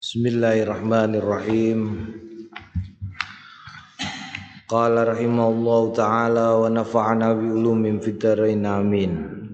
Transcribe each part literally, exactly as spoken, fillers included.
Bismillahirrahmanirrahim. Qala rahimahullahu ta'ala wa nafa'ana bi ulumin fid dharain amin.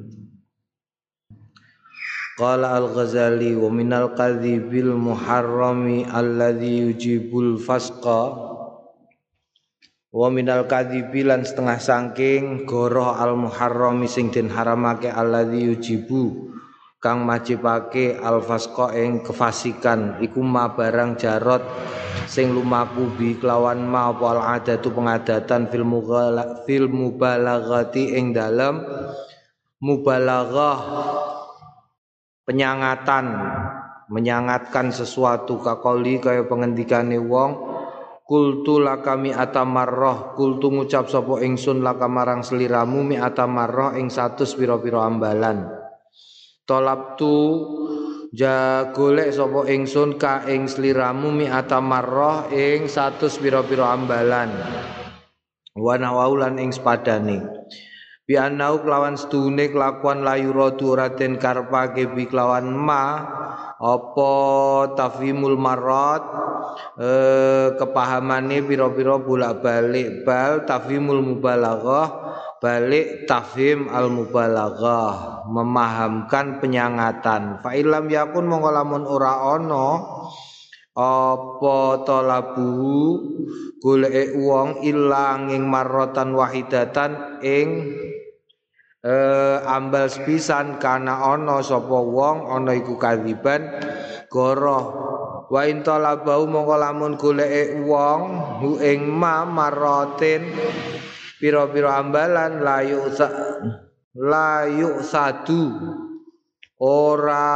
Qala al-Ghazali wa minal kadhibil muharrami alladhi yujibul fasqa wa minal kadhibi lan setengah sangking goroh al-muharrami sing den haramake alladhi yujibu kang majibake al-fasqa ing kefasikan iku ma barang jarot sing lumaku bi kelawan ma apa al-adatu pengadatan fil mughala fil mubalaghati ing dalem mubalaghah penyangatan menyangatkan sesuatu kakoli kaya pengendikane wong kultu lakami atamarrah kultu ngucap sapa ingsun lakamarang seliramu mi atamarrah ing satus pira-pira ambalan tolabtu ja golek sapa ingsun ka ing sliramu mi atamarrah ing satus pira-pira ambalan wa nawaulan ing sepadane bi anau kelawan sedune kelakuan layu radu raden karpake bi kelawan ma apa tafhimul marrat eh, kepahamane pira-pira bolak-balik bal tafhimul mubalaghah balik tafhim al mubalaghah memahamkan penyangatan fa ilam yakun mongko lamun ora ana apa talabu goleke wong ilang ing marratan wahidatan ing eh, ambal sepisan kana ana sapa wong ana iku kadziban goroh wa in talabau mongko lamun goleke wong hu ing ma marratin pira-pira ambalan layu layu satu ora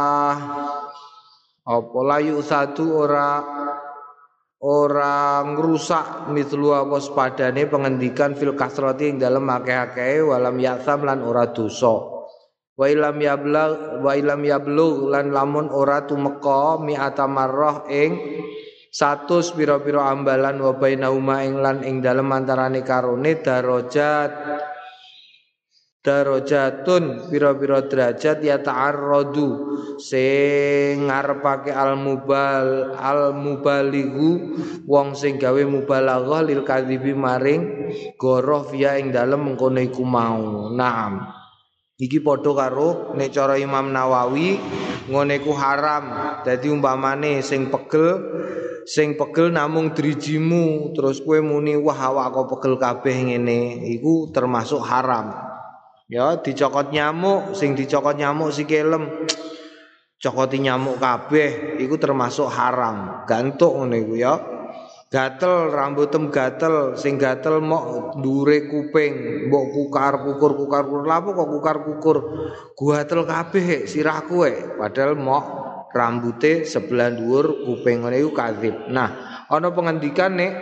apa layu satu ora ora ngrusak mitlu apa sepadane pengendikan fil kasrati ing dalem akeh-akeh walam yaksam lan ora dosa wa ilam yablugh wa ilam yablugh lan lamun ora tumeka mi'ata marrah ing satus pira-pira ambalan wa bainauma ing lan ing dalem antarane karone darajat darajatun pira-pira derajat ya ta'arradu sing ngarepake al mubal al mubalighu wong sing gawe mubalaghah lil kadzibi maring goroh via ing dalem mengkono iku mau. Naam. Iki padha karo nek cara Imam Nawawi ngene iku haram. Dadi umpamane sing pegel sing pegel namung drijimu terus kowe muni wah awakku pegel kabeh ngene iku termasuk haram. Ya dicokot nyamuk sing dicokot nyamuk sikelem cokoti nyamuk kabeh iku termasuk haram. Gantuk ngene iku ya. Gatel rambutem gatel sing gatel mok ndure kuping mbok kukar kukur kukar kukur lapo kok kukar kukur gatel kabeh sirahku e padahal mok rambute sebelah dhuwur kuping ngene iku kadzib. Nah, ana pengendikan nek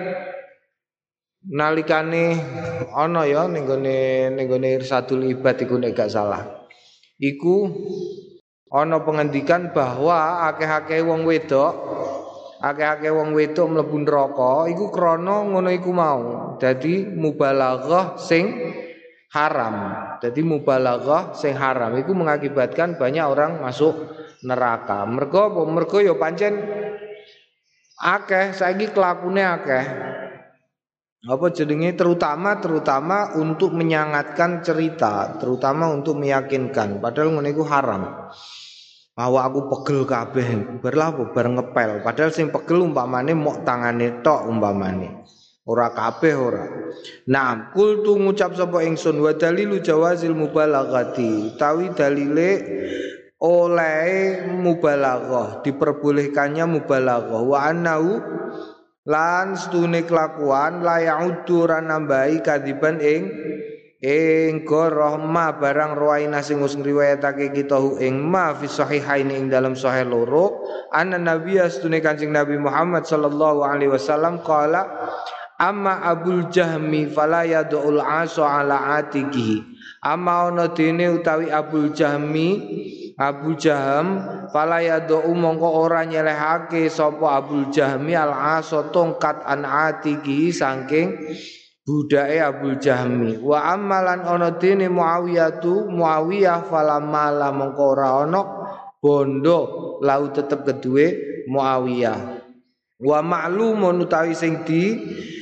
nalikane ana ya ning gone ning gone Irsadul Ibad iku nek gak salah. Iku ana pengendikan bahwa akeh-akeh wong wedok akeh-akeh wong wedok mlebu neraka iku krana ngono iku mau. Dadi mubalaghah sing haram. Dadi mubalaghah sing haram iku mengakibatkan banyak orang masuk neraka. Mergo apa? Mergo ya pancen akeh saiki kelakune akeh. Apa jenenge terutama terutama untuk menyangatkan cerita, terutama untuk meyakinkan padahal ngono iku haram. Awak aku pegel kabeh, berlah bar ngepel. Padahal sing pegel umpamane mok tangane tok umpamane. Ora kabeh ora. Nah, kultu ngucap sapa ingsun wa dalilu jawazil mubalaghati. Tawi dalile oleh mubalaghah, diperbolehkannya mubalaghah wa annahu lan stune kelakuan la ya'uddu ran nambahi kadiban ing ing goroh ma barang ruwaina sing wis ngriwayatake kita hu ing ma fi sahihaini ing dalam sahih loro anna nabiy astune Kanjeng Nabi Muhammad sallallahu alaihi wasallam qala amma Abul Jahmi fala yadul aso ala atiqihi amma ono dene utawi Abul Jahmi Abu Jaham fala yadu mongko ora nyelehake sapa Abul Jahmi al aso tongkat an atiqihi saking budake Abul Jahmi wa amalan ana dene Muawiyah tu Muawiyah falamala mongko ora ana bondo lau tetep kedue Muawiyah. Wa ma'lumun utawi sing di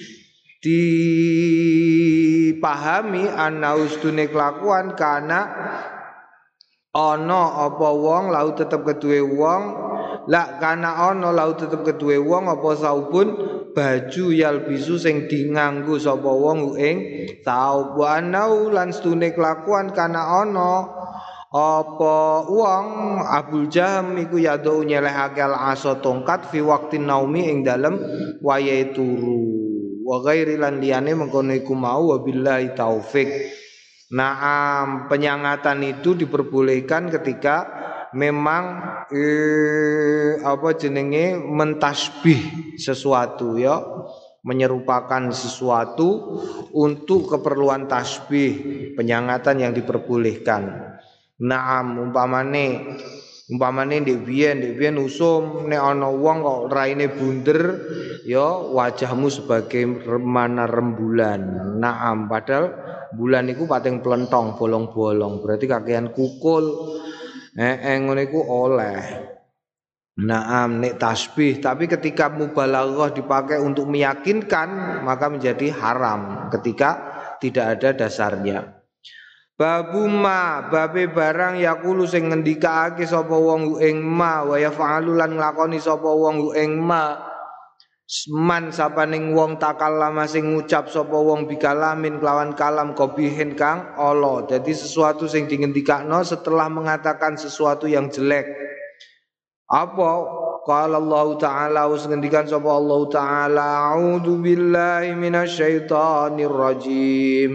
dipahami ana ustune kelakuan kana ana apa wong lau tetep keduwe wong la kana ana lau tetep keduwe wong apa saubun baju yalbisu sing dinganggo sapa wong ing saub wa anau lan stune kelakuan kana ana apa wong Abul Jaham iku yado nyelehake al-asa tongkat fi waqtin naumi ing dalem wayahe turu wa ghairi lan liyane mengkono iku mau wabillahi taufik. Naam, penyangatan itu diperbolehkan ketika memang eh, apa jenenge mentasbih sesuatu ya, menyerupakan sesuatu untuk keperluan tasbih, penyangatan yang diperbolehkan. Naam, umpamane umpamane ndek biyen ndek biyen usum nek ana wong kok raine bunder ya wajahmu sebagai remana rembulan. Naam, padahal bulan iku pating plentong bolong-bolong berarti kakean kukul eh ngono iku oleh. Naam, nek tasbih tapi ketika mubalaghah dipakai untuk meyakinkan maka menjadi haram ketika tidak ada dasarnya. Babu ma babe barang yakulu sing ngendikaake sapa wong ing ma wa yaf'alu lan nglakoni sapa wong ing ma man sapaning wong takallama sing ngucap sapa wong bikalamin kelawan kalam qabihin kang ala. Dadi sesuatu sing dingendikakno setelah mengatakan sesuatu yang jelek. Apa? Qala Allah Ta'ala us ngendikan sapa Allah Ta'ala a'udzu billahi minasyaitonir rajim.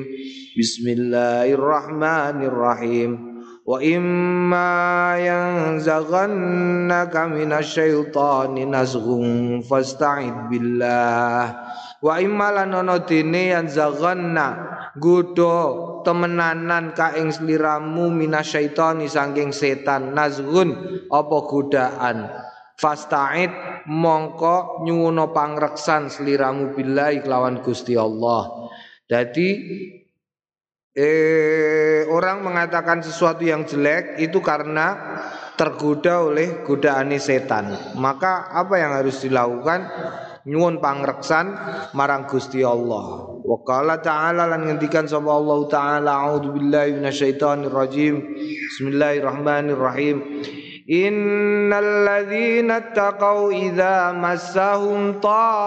Bismillahirrahmanirrahim. Wa imma yanzaghannaka minasyaitani nazghun fasta'id billah. Wa imma lanono dene yanzaghanna godho temenanan ka ing sliramu minasyaitani saking setan nazghun apa godaan. Fasta'id mongko nyuwuna pangreksan sliramu billahi kelawan Gusti Allah. Jadi Eh, orang mengatakan sesuatu yang jelek itu karena tergoda oleh godaan setan. Maka apa yang harus dilakukan? Nyuwun pangreksan marang Gusti Allah. Wa qala ta'ala lan ngendikan sapa Allah Ta'ala a'udzu billahi minasyaitonir rajim. Bismillahirrahmanirrahim. Innal ladzina taqau idza massahum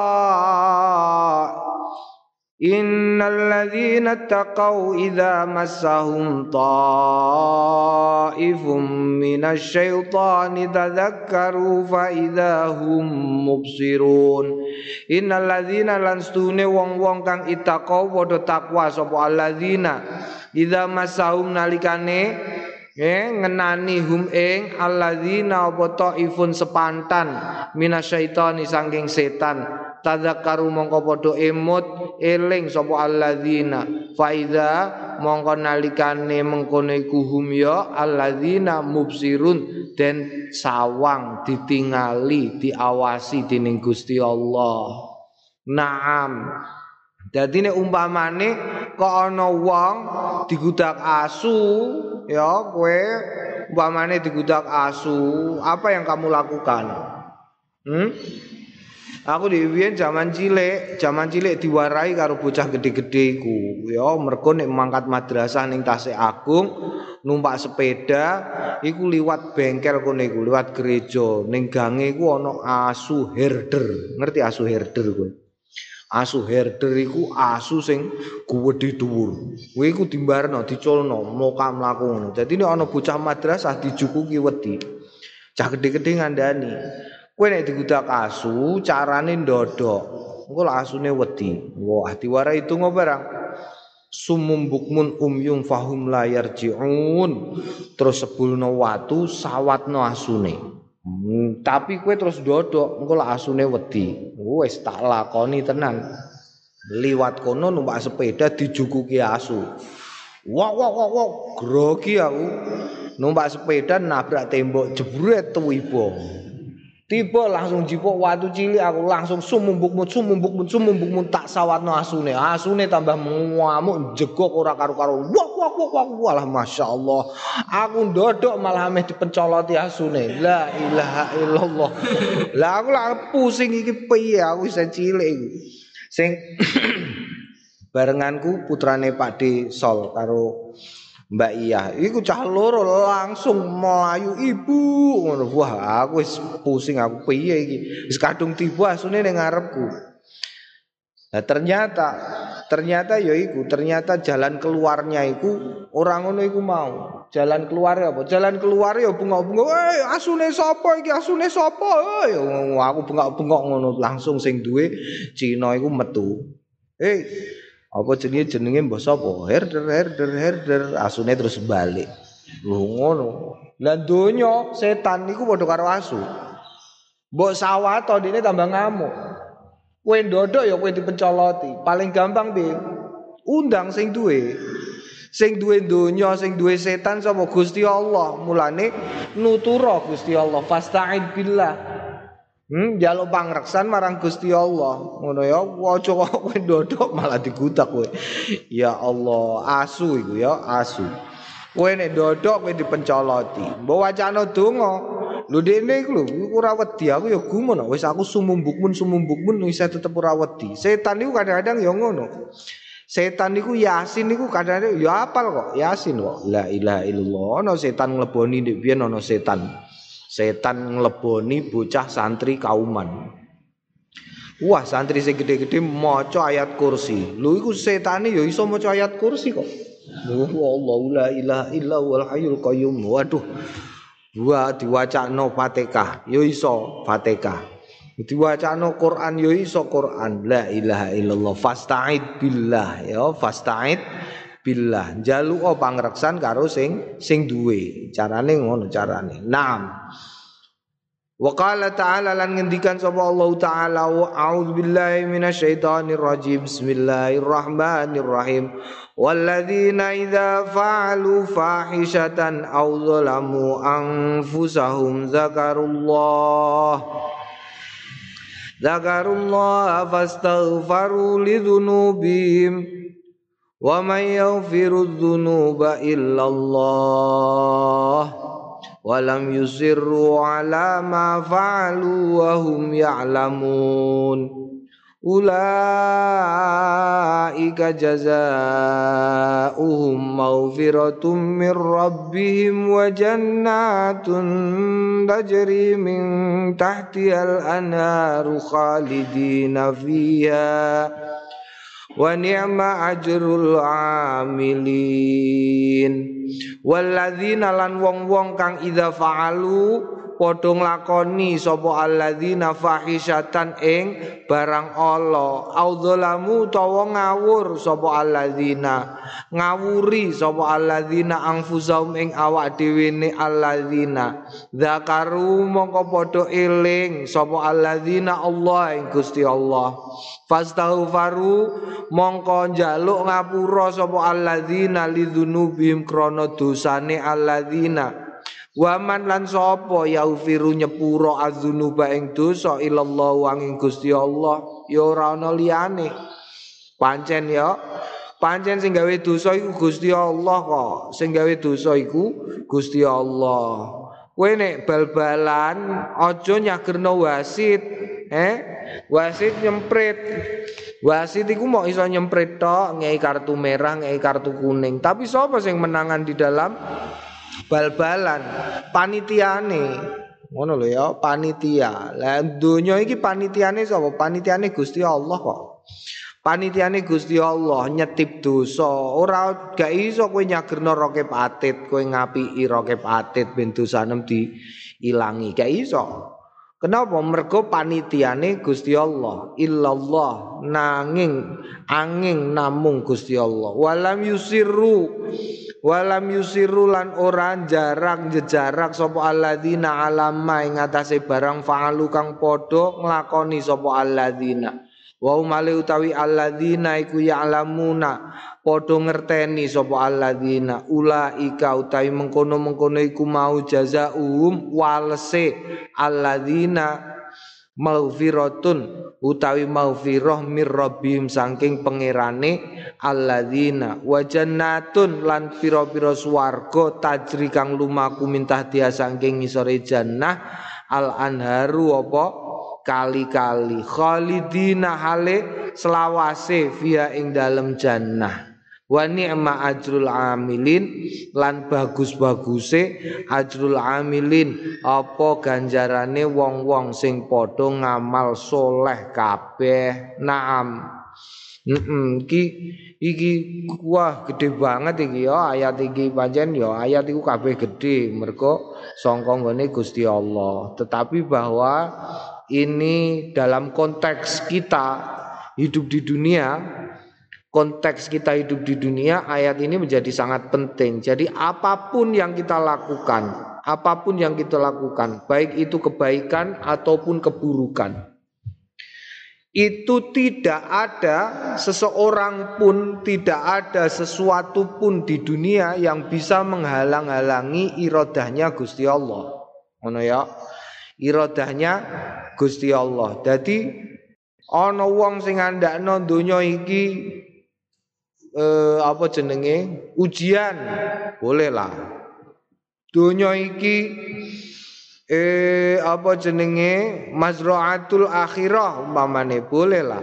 ta' Innal ladzina taqau idza massahum ta'ifum minasyaitani tadzakkaru fa idza hum mubsirun. Innal ladzina lan stune wong-wong kang ittaqau padha takwa sapa alladzina idza massahum nalikane eh ngenani hum ing alladzina apa ta'ifun sepantan minasyaitani saking setan tadzakkaru mongko padha emut eling sapa alladzina fa iza mongko nalikane mengkono iku hum ya alladzina mubsirun den sawang ditingali diawasi dening Gusti Allah. Naam. Dadi nek umpamane kok ana wong digudak asu ya kowe umpamane digudak asu apa yang kamu lakukan? Hmm? Aku diwiyen zaman cilik, zaman cilik diwarai karo bocah gede-gede iku. Ya mergo nek mangkat madrasah ning Tasik Agung, numpak sepeda iku liwat bengkel kene iku, liwat gereja. Ning gange iku ana asu herder. Ngerti asu herder kowe? Asu herder iku asu sing gedhe dhuwur. Kowe iku dimbarno, diculno, moka mlaku ngono. Dadi nek ana bocah madrasah dijukuki wedi. Cah gede-gede ngandani. Kowe nek digudak asu, carane ndodok. Engko lak asune wedi. Wah, diwarai itu ngobarang. Sumum bukmun umyum fahum la yarji'un. Terus sebulno watu sawatno asune. Hmm, tapi kowe terus ndodok, engko lak asune wedi. Wis tak lakoni tenan. Liwat kono numpak sepeda dijukuki asu. Wah wah wah wah, grogi aku. Numpak sepeda nabrak tembok jebret tuwibo. Tiba langsung jipuk watu cilik aku langsung sumumbukmut sumumbukmut sumumbukmut tak sawatno asune. Asune tambah ngamuk jegok ora karo-karo. Wah wah wah wah walah masyaallah. Aku ndodok malah ameh dipencoloti asune. La ilaha illallah. Lah aku lah pusing iki piye aku isih cilik iku. Sing barenganku putrane Pak D Sol karo Mbak Iya, iku cah loro langsung melayu ibu ngono. Wah, aku wis pusing aku piye iki. Wis kadung tiba asune ning ngarepku. Nah, ternyata ternyata ya iku, ternyata jalan keluarnya iku orang ngono iku mau. Jalan keluar apa? Jalan keluar ya bengok-bengok, "Eh, asune sapa iki? Asune sapa?" Ya aku bengok-bengok ngono langsung sing duwe Cina iku metu. Eh, apa jenenge jenenge mbah sapa? Herder herder herder asune terus balik. Lho ngono. Lah donya setan niku padha karo asu. Mbok sawato dene tambah ngamuk. Kowe ndodok ya kowe dipencoloti. Paling gampang piye? Undang sing duwe. Sing duwe donya, sing duwe setan sapa? Gusti Allah. Mulane nutura Gusti Allah. Fasta'id billah. Hmm, njaluk pangreksan marang Gusti Allah. Ngono ya, aja kok kowe ndodok malah digudak kowe. Ya Allah, asu iku ya, asu. Kowe nek ndodok kowe dipencoloti. Mbok wacana donga. Lho dene iku lho, ora wedi aku ya gumun wis aku sumumbukmun sumumbukmun wis tetep ora wedi. Setan niku kadang-kadang ya ngono. Setan niku Yasin niku kadang-kadang ya apal kok, Yasin kok. La ilaha illallah. Ana setan ngleboni ndek biyen ana setan. Setan ngleboni bocah santri kauman. Wah, santri sing gede-gede maca ayat kursi. Lho iku setane ya iso maca ayat kursi kok. Lho Allah la ilaha illa huwal hayyul qayyum. Waduh. Wa diwacakno Fatihah ya iso Fatihah. Diwacakno Quran ya iso Quran. La ilaha illallah. Fasta'id billah ya, fasta'id billah. Njaluk pangreksan karo sing sing duwe. Carane ngono carane. Naam. Wa qala ta'ala lan ngendikan sapa Allah taala wa a'udzubillahi minasyaitonir rajim. Bismillahirrahmanirrahim. Walladzina idza fa'alu fahishatan aw zalamu anfusahum zakarullah zakarullah fastaghfaru lidzunubihim wa may yaghfiru dzunuba illallah wa lam yusirru ala ma fa'alu wa hum ya'lamun. Ulaika jazaa'uhum maghfiratum min rabbihim wa jannatun tajri min tahtihal anharu khalidina fiha wa ni'ma ajrul amilin. Walladzina lan wong-wong kang idza fa'alu padha nglakoni sapa alladzina fahisyatan ing barang ala audzalamu utawa ngawur sapa alladzina ngawuri sapa alladzina anfusahum ing awak dhewe ne alladzina zakaru mongko padha eling sapa alladzina Allah ing Gusti Allah fastaghfaru mongko njaluk ngapura sapa alladzina lidzunubihim krana dosane alladzina. Waman lan sapa yaghfiru nyepuro adzunuba ing dosa ilallah wanging Gusti Allah ya ora ana liyane. Pancen ya, pancen sing gawe dosa iku Gusti Allah kok. Sing gawe dosa iku Gusti Allah. Kowe nek bal-balan aja nyagerno wasit, eh? Wasit nyemprit. Wasit iku mau iso nyemprit tok, ngei kartu merah, ngei kartu kuning. Tapi sapa sing menangan di dalam bal-balan? Panitiane. Ngono lho ya, panitia. Lah donya iki panitiane sapa? Panitiane Gusti Allah kok. Panitiane Gusti Allah nyetip dosa. Ora gak iso kowe nyagerno roke patit, kowe ngapiki roke patit ben dosanem diilangi. Gak iso. Kenapa? Mergo panitiane Gusti Allah. Illallah nanging angin namung Gusti Allah. Walam yusirru walam yusiru lan ora jarak jejarak sapa alladzina alama ing atase barang fa'alu kang padha nglakoni sapa alladzina Wa umale utawi alladzina iku ya'lamuna padha ngerteni sapa alladzina ulaika utawi mengkono-mengkono iku mau jazaum walese alladzina maghfiratun utawi maghfirah mir rabbihim saking pangerane alladzina wa jannatun lan pira-pira swarga tajri kang lumaku mintah dia saking ngisore jannah al anharu apa kali-kali khalidina hale selawase via ing dalem jannah wa ni'ma ajrul amilin lan bagus-baguse ajrul amilin apa ganjarane wong-wong sing padha ngamal soleh kabeh naam heeh iki iki wah gede banget iki ya ayat iki pancen ya ayat iku kabeh gede mergo sangka nggone Gusti Allah tetapi bahwa ini dalam konteks kita hidup di dunia konteks kita hidup di dunia ayat ini menjadi sangat penting. Jadi apapun yang kita lakukan, apapun yang kita lakukan, baik itu kebaikan ataupun keburukan, itu tidak ada seseorang pun, tidak ada sesuatu pun di dunia yang bisa menghalang-halangi iradahnya Gusti Allah. Ngono ya. Iradahnya Gusti Allah. Jadi ana wong sing ngandakno donya iki Eh, apa jenenge ujian boleh lah donya iki eh apa jenenge mazraatul akhirah umpamane boleh lah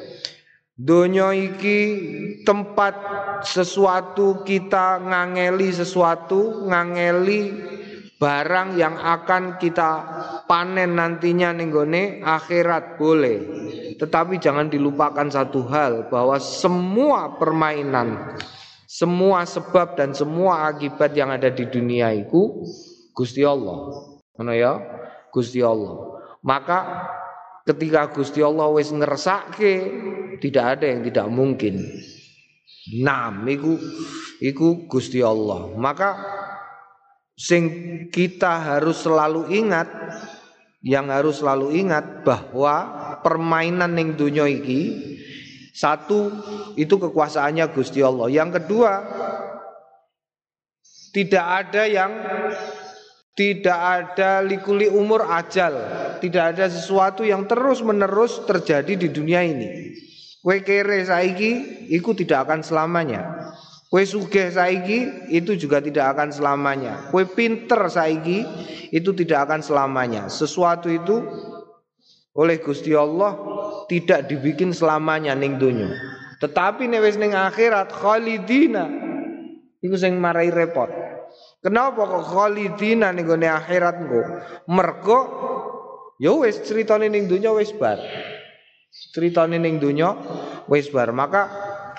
donya iki tempat sesuatu kita ngangeli sesuatu ngangeli barang yang akan kita panen nantinya ning gone akhirat boleh. Tetapi jangan dilupakan satu hal bahwa semua permainan, semua sebab dan semua akibat yang ada di dunia itu Gusti Allah. Ngono ya? Gusti Allah. Maka ketika Gusti Allah wis ngersake tidak ada yang tidak mungkin. Nam iku iku Gusti Allah. Maka sing kita harus selalu ingat, yang harus selalu ingat bahwa permainan ning dunya iki satu itu kekuasaannya Gusti Allah. Yang kedua tidak ada yang tidak ada likuli umur ajal, tidak ada sesuatu yang terus-menerus terjadi di dunia ini. Kowe kere saiki iku tidak akan selamanya. Kowe sugih saiki itu juga tidak akan selamanya. Kowe pinter saiki itu tidak akan selamanya. Sesuatu itu oleh Gusti Allah tidak dibikin selamanya ning donya. Tetapi nek wis ning akhirat khalidina iku sing marai repot. Kenapa kok khalidina ning gone akhirat engko? Mergo ya wis critane ning donya wis bar. Critane ning donya wis bar. Maka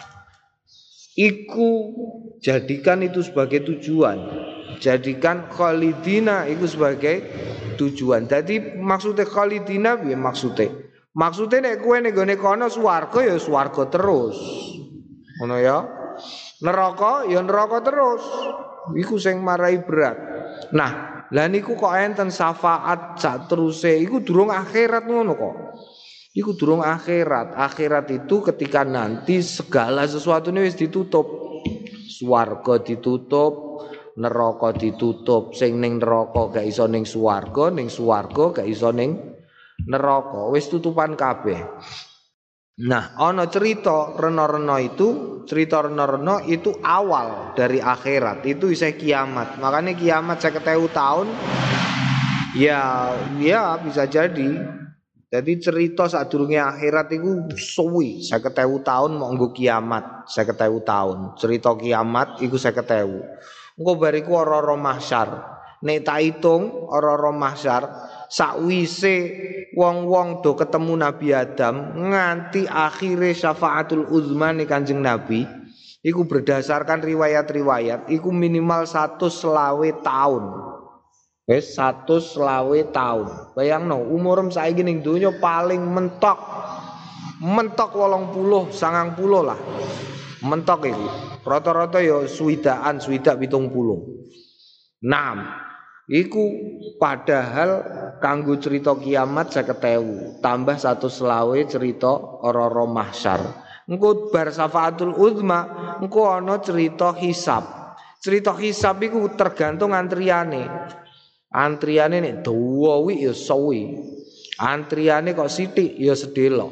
iku jadikan itu sebagai tujuan. Jadikan khalidina itu sebagai tujuan. Jadi maksudnya khalidina piye maksudnya? Maksudnya nek kowe ning gone kono swarga ya swarga terus. Ngono ya. Neraka ya neraka terus. Iku sing marai berat. Nah, lah niku kok enten syafaat sak teruse iku durung akhirat ngono kok. Iku durung akhirat. Akhirat itu ketika nanti segala sesuatu ini wis ditutup. Swarga ditutup, neraka ditutup. Sing ning neraka gak iso ning swarga, ning swarga gak iso ning neraka. Wis tutupan kabeh. Nah, ana cerita rena-rena itu, cerita rena-rena itu awal dari akhirat. Itu isih kiamat. Makanya kiamat seket ewu tahun ya ya bisa jadi. Jadi cerita sadurunge akhirat iku suwi seket ewu tahun mau nggo kiamat seket ewu tahun. Cerita kiamat iku seket ewu. Engko bariku ora-ora mahsyar. Nek tak hitung ora-ora mahsyar sakwise wong-wong do ketemu Nabi Adam nganti akhire syafaatul uzma ning Kanjeng Nabi iku berdasarkan riwayat-riwayat iku minimal seratus selawe tahun. Wes seratus selawe tahun. Bayangno umurem saiki ning donya paling mentok mentok wolong puluh sangang puluh lah. Mentok iku. Rata-rata ya swidaan, swidak pitung puluh. Naam. Iku padahal kanggo cerita kiamat seket ewu tambah satu selawe cerita ora-ora mahsyar. Engko bar syafaatul uzma engko ana cerita hisab. Cerita hisab iku tergantung antriane. Antriane nek dawa wi ya suwi. Antriane kok sithik ya sedelok.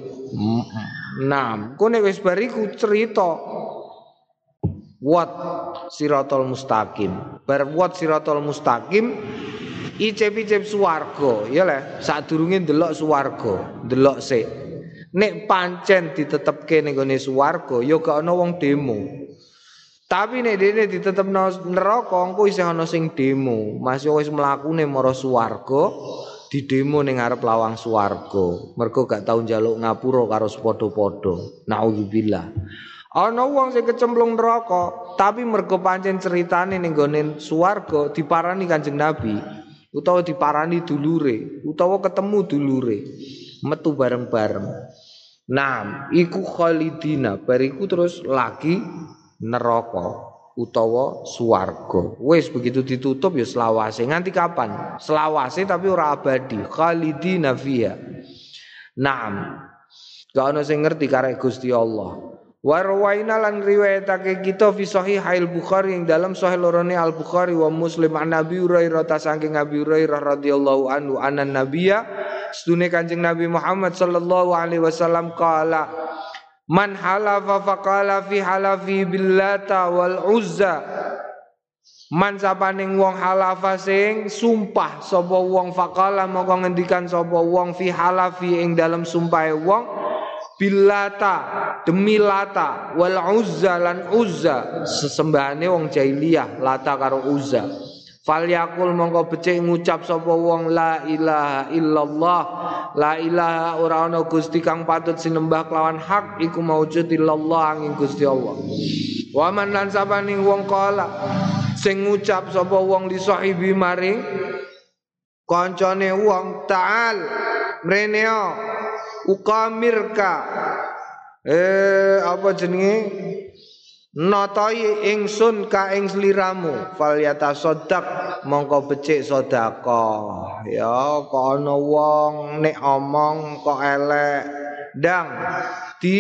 Nah, engko nek wis bar iku cerita wat siratal mustaqim. Bar wat siratal mustaqim icip-icip swarga, ya le, sadurunge ndelok swarga, ndelok sik. Nek pancen ditetepke ning gone swarga, ya gak ana wong demo. Tapi nek dene ditetepno neraka, engko isih ana sing demo. Masih wis mlakune marang swarga, di demo ning arep lawang swarga. Mergo gak tau njaluk ngapura karo padha-padha. Nauzubillah. Ana wong sing kecemplung neraka, tapi mergo pancen ceritane ning gone swarga diparani Kanjeng Nabi, utawa diparani dulure, utawa ketemu dulure, metu bareng-bareng. Nah, iku khalidina, bariku terus lagi neraka utawa swarga. Wis begitu ditutup ya selawase. Nganti kapan? Selawase tapi ora abadi. Khalidina fiha. Naam. Gak ana sing ngerti karek Gusti Allah. Warwaina lan riwayatake kita fi sahih al-Bukhari yang dalam sahih lorone al-Bukhari wa Muslim an Nabi Hurairah ta saking Abi Hurairah radhiyallahu anhu anan nabiyya sedune Kanjeng Nabi Muhammad sallallahu alaihi wasallam qala man halafa faqala fi halafi billata wal uzza man sapaning wong halafa sing sumpah sapa wong faqala mongko ngendikan sapa wong fi halafi ing dalam sumpahe wong billata demi lata wal uzza lan uzza sesembahane wong jahiliyah lata karo uzza falyakul mongko becik ngucap sapa wong la ilaha illallah la ilaha ora ana gusti kang patut sinembah kelawan hak iku maujud illallah angin Gusti Allah wa man lan sabaning wong kala sing ngucap sapa wong li sahibi maring kancane wong ta'al mreneo ukamirka eh apa jenenge notai ingsun ka ing sliramu falyata sodak mongko becik sedekah ya kok ana wong nek omong kok elek ndang di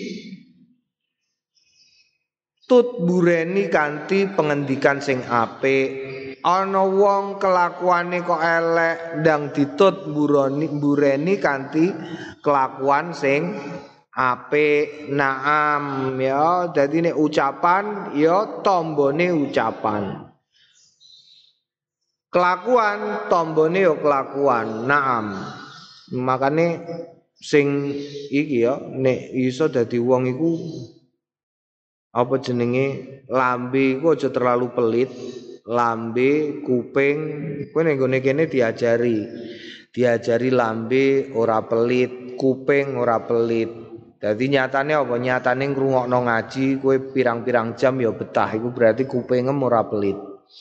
tut bureni kanthi pengendikan sing apik. Ana wong kelakuane kok elek ndang ditut mburoni mbureni kanthi kelakuan sing apik. Naam ya dadi nek ucapan ya tombone ucapan, kelakuan tombone ya kelakuan. Naam makane sing iki ya nek iso dadi wong iku apa jenenge lambe iku aja terlalu pelit. Lambe, kuping, kowe ning gone kene diajari. Diajari lambe ora pelit, kuping ora pelit. Dadi nyatane apa? Nyatane ngrungokno ngaji kowe pirang-pirang jam ya betah. Iku berarti kupingem ora pelit.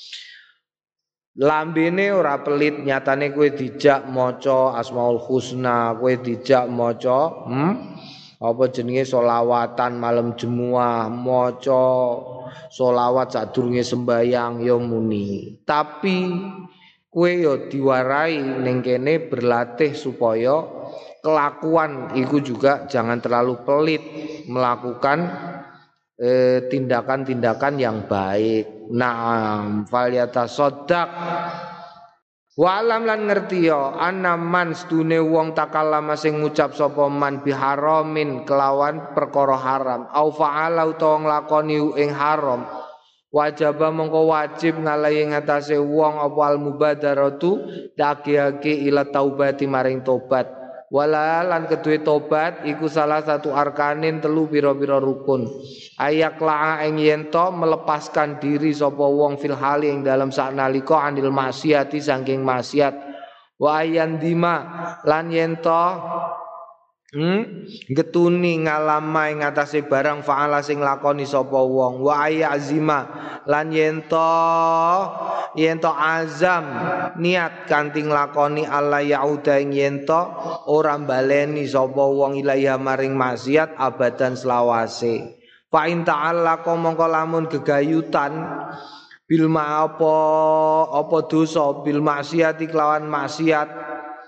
Lambene ora pelit, nyatane kowe dijak maca Asmaul Husna, kowe dijak maca hmm? apa jenenge selawatan malam Jumat, maca selawat sadurunge sembayang ya muni. Tapi kowe ya diwarai ning kene berlatih supaya kelakuan iku juga jangan terlalu pelit, melakukan eh, tindakan-tindakan yang baik. Naam falyatasaddaq wa alam lan ngerti ya ana man stune wong takallama sing ngucap sapa man biharamin kelawan perkara haram au fa'ala utawa nglakoni ing haram wajaba mongko wajib ngalahi ngatasé wong apa al mubadaratu daki-aki ila taubati maring tobat wala lan kedue tobat iku salah satu arkanin telu pira-pira rukun ayak la ing yen to melepaskan diri sapa wong fil hali ing dalam saknalika anil maksiati saking maksiat wa ayan dima lan yen to Hmm? getuni ngalama ing atase barang faala sing lakoni sapa wong wa ayazima lan yento yento azam niat kanthi nglakoni alla yauda ing yento ora baleni sapa wong ilaiha maring maksiat abadan selawase fa in ta'alla mongko lamun gegayutan bil ma apa apa dosa bil maksiati kelawan maksiat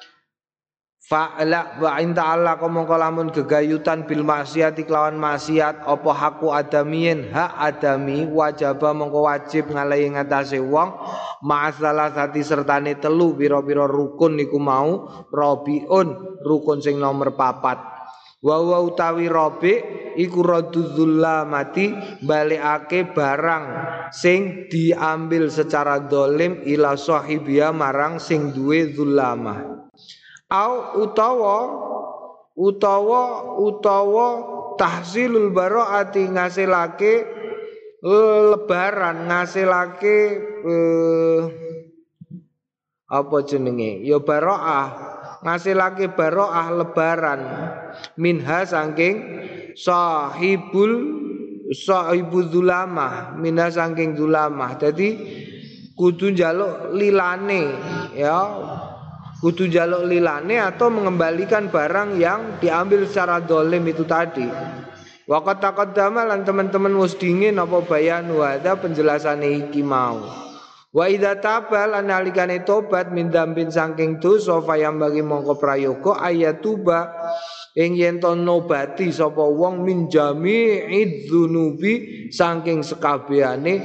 fa'la wa in ta'ala mongko lamun gegayutan bil maksiati kelawan maksiat apa haku adamien hak adami wajaba mongko wajib ngalahi ngatasé wong masalah sati sertane telu pira-pira rukun niku mau rabiun rukun sing nomor papat wa wa utawi rabi iku radzulamati balikake barang sing diambil secara dolim ila sahibia marang sing duwe zulamah au utawa utawa utawa tahsilul baraati ngasilake lebaran ngasilake eh, apa jenenge ya baraah ngasilake baraah lebaran minha saking sahibul sahibul zulamah minha saking zulamah dadi kudu njaluk lilane ya kudu jaluk lilane atau mengembalikan barang yang diambil secara dolim itu tadi. Waqat taqaddama lan teman-teman wis dingin apa bayan wada penjelasane iki mau. Wa idza tabal analikane tobat min dzambin saking dosa fayam bagi mongko prayoga ayatuba ing yen to nobati sapa wong min jami'id dzunubi saking sekabehane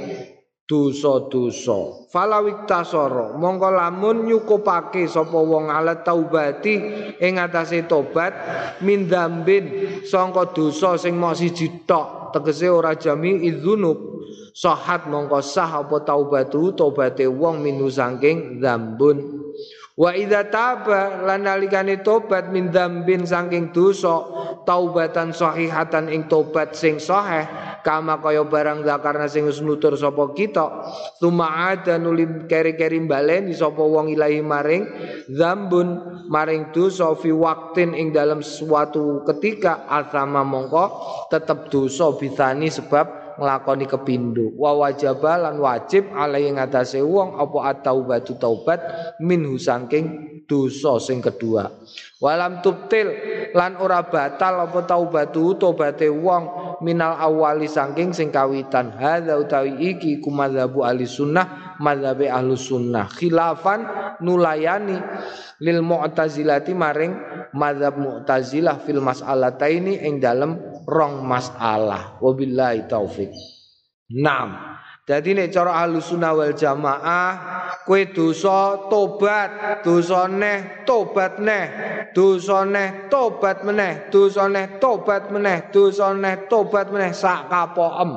dosa-dosa falawik tasoro mongko lamun nyukupake sapa wong ala taubati ing atase tobat min dzambin sangka dosa sing mok siji tok tegese ora jami idzunub sahat mongko sah apa taubatu tobaté wong minu saking dzambun wa idza taba lan nalikane tobat min dzambin saking dosa taubatan sahihatan ing tobat sing sahih kama kaya barang zakarna sing wis nutur sapa kita tumaada nulim keri-keri baleni sapa wong ilahi maring dzambun maring dosa fi waktin ing dalam suatu ketika asama mongko tetep dosa bisani sebab nglakoni kepindho wa wajaba lan wajib alai ngatasé wong apa at-taubatu taubat minhu saking dosa sing kedua walam tubtil lan ora batal apa taubatu taubate wong minal awali saking sing kawitan hadza utawi iki kumadzhabu ahli sunnah madzhabe ahli sunnah khilafan nulayani lil mu'tazilati maring madzhab mu'tazilah fil mas'alataini ing dalem rong masalah wabillahi taufik. Naam. Dadi nek cara Ahlussunnah wal Jamaah kowe dosa tobat, dosa neh tobat neh, dosa neh tobat meneh, dosa neh tobat meneh, dosa neh tobat meneh sak kapoem.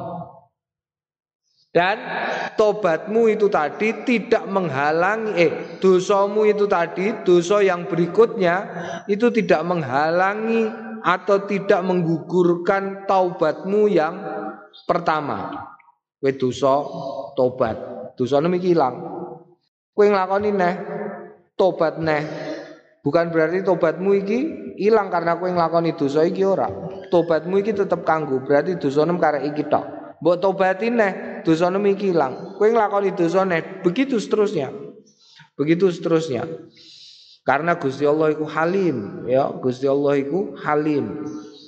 Dan tobatmu itu tadi tidak menghalangi eh dosamu itu tadi dosa yang berikutnya itu tidak menghalangi atau tidak menggugurkan taubatmu yang pertama. Kowe dosa tobat, dosane iki ilang. Kowe nglakoni neh tobat neh. Bukan berarti tobatmu iki ilang karena kowe nglakoni dosa iki ora. Tobatmu iki tetep kanggo, berarti dosane karek iki tok. Mbok tobati neh, dosane iki ilang. Kowe nglakoni dosa neh, begitu seterusnya. Begitu seterusnya. Karena Gusti Allah iku halim, ya, Gusti Allah iku halim.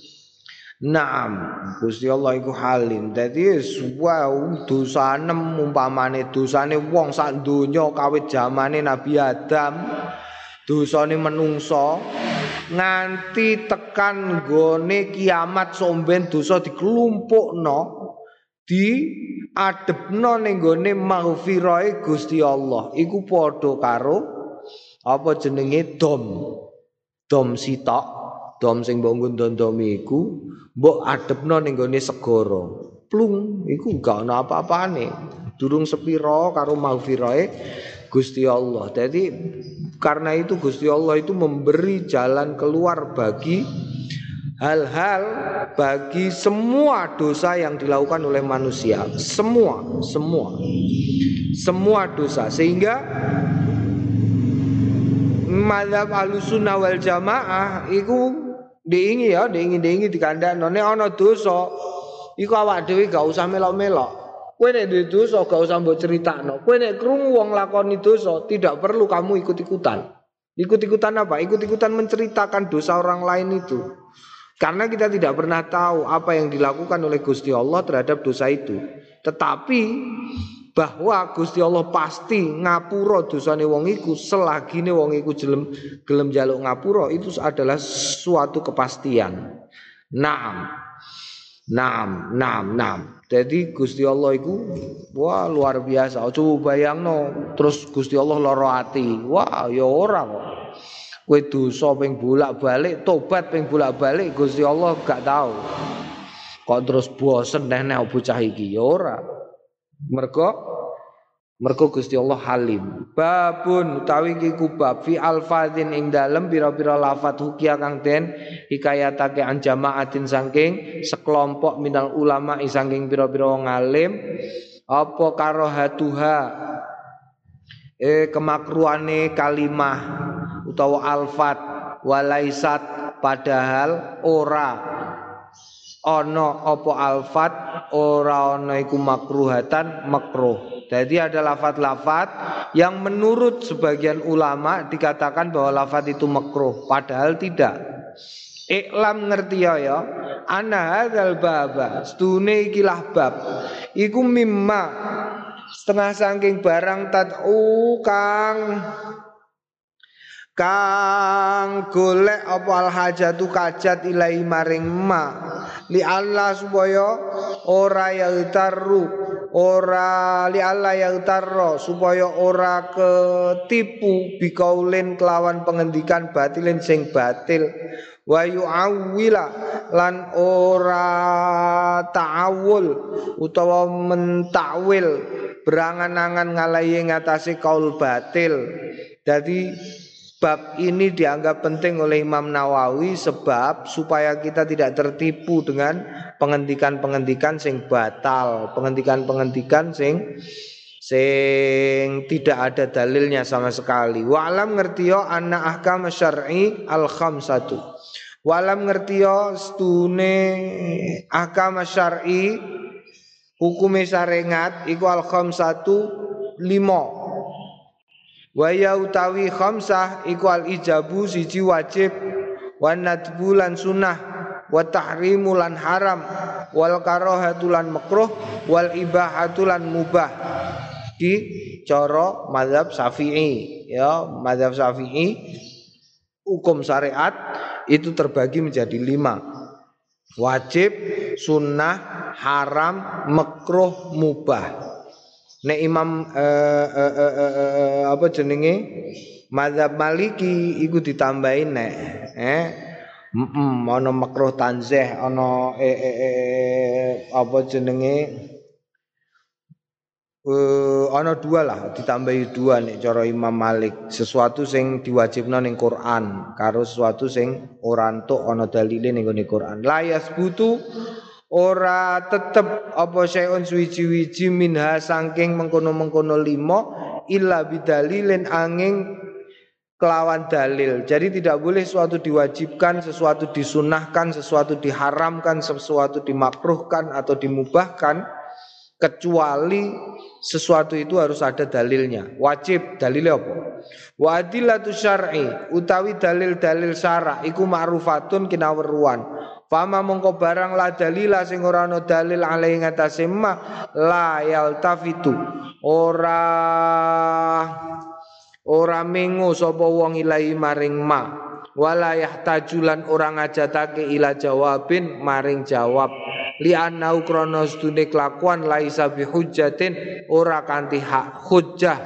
Naam, Gusti Allah iku halim. Dadi wow, dosane umpamane dosane wong sak donya kawit zamane Nabi Adam, dosane menungso nganti tekan nggone kiamat somben dosa diklumpukno, diadepno ning nggone maghfirahe Gusti Allah. Iku padha karo apa jenenge dom dom sitok dom sing mbok ngundondome iku mbok adepno ning gone segara plung iku gak ana apa-apane durung sepira karo maghfirahe Gusti Allah. Jadi karena itu Gusti Allah itu memberi jalan keluar bagi hal-hal bagi semua dosa yang dilakukan oleh manusia, semua semua semua dosa, sehingga mazhab Ahlussunnah wal Jamaah iku diingi ya, diingi-diingi dikandakno nek ana dosa iku awak dhewe gak usah melok-melok. Kowe nek duwe dosa gak usah mbok critakno. Kowe nek krungu wong lakoni dosa tidak perlu kamu ikut-ikutan. Ikut-ikutan apa? Ikut-ikutan menceritakan dosa orang lain itu. Karena kita tidak pernah tahu apa yang dilakukan oleh Gusti Allah terhadap dosa itu. Tetapi bahwa Gusti Allah pasti ngapura dosane wong iku selagine wong iku gelem gelem njaluk ngapura, itu adalah suatu kepastian. Naam. Naam, naam, naam. Jadi Gusti Allah iku wah luar biasa. Coba bayangno terus Gusti Allah lara ati. Wah, ya ora kok. Kowe dosa ping bolak-balik, tobat ping bolak-balik Gusti Allah gak tahu. Kok terus bosen nek bocah iki ya ora. Mergo mergo Gusti Allah Halim. Babun utawi iku bab fi alfadzin ing dalem pira-pira lafadz hukia kang den hikayatake an jamaatin saking sekelompok minal ulama saking pira-pira wong alim apa karohatuha eh kemakruane kalimah utawa alfat walaisat padahal ora ana apa alfat ora ana iku makruhatan makruh. Jadi ada lafat-lafat yang menurut sebagian ulama dikatakan bahwa lafat itu makruh padahal tidak. Iklam ngerti ya ya ana hadzal baba stune ikilah bab iku mimma setengah saking barang tad'u kang kang golek apa al hajatu kajat ilai maring ma li Allah supaya ora yautarru ora li Allah yautarro supaya ora ketipu bikaulin kelawan pengendikan batilin sing batil wa yu'awwila lan ora ta'awul utawa mentakwil berangan-angan ngalahi ngatasi kaul batil. Jadi bab ini dianggap penting oleh Imam Nawawi sebab supaya kita tidak tertipu dengan pengendikan-pengendikan sing batal, pengendikan-pengendikan sing sing tidak ada dalilnya sama sekali. Wa alam ngertiyo anna ahkam syar'i al khamsatu. Wa alam ngertiyo stune ahkam syar'i hukume syariat iku al khamsatu lima. Wa ya utawi khamsah iku al ijabu siji wajib wa nadbu lan sunah wa tahrimu lan haram wal karahatu lan makruh wal ibahatu lan mubah di cara mazhab Syafi'i ya. Mazhab Syafi'i hukum syariat itu terbagi menjadi lima: wajib, sunnah, haram, makruh, mubah. Nek Imam eh, eh, eh, eh, apa jenenge mazhab Maliki iku ditambahin nek eh mm ana makruh tanzih ana eh, eh, eh, apa jenenge eh ana dua lah, ditambahi dua nek cara Imam Malik, sesuatu sing diwajibna ning Quran karo sesuatu sing ora entuk ana dalile ning Quran. La yasbutu ora tetep apa syai'un suwiji-wiji minha saking mengkono-mengkono lima illa bidalilin angin kelawan dalil. Jadi tidak boleh sesuatu diwajibkan, sesuatu disunahkan, sesuatu diharamkan, sesuatu dimakruhkan atau dimubahkan kecuali sesuatu itu harus ada dalilnya. Wajib dalilnya apa? Wa adillatu syar'i utawi dalil-dalil syara' iku ma'rufatun kinaweruan. Fama mongko barang la dalila sing ora ana dalil alai ngatasé ma la yaltafitu ora ora mengo sapa wong ilahi maring ma wala yahtajulan ora ngajatake ila jawabin maring jawab li annau krana sedune kelakuan laisa bihujjatin ora kanthi hak hujjah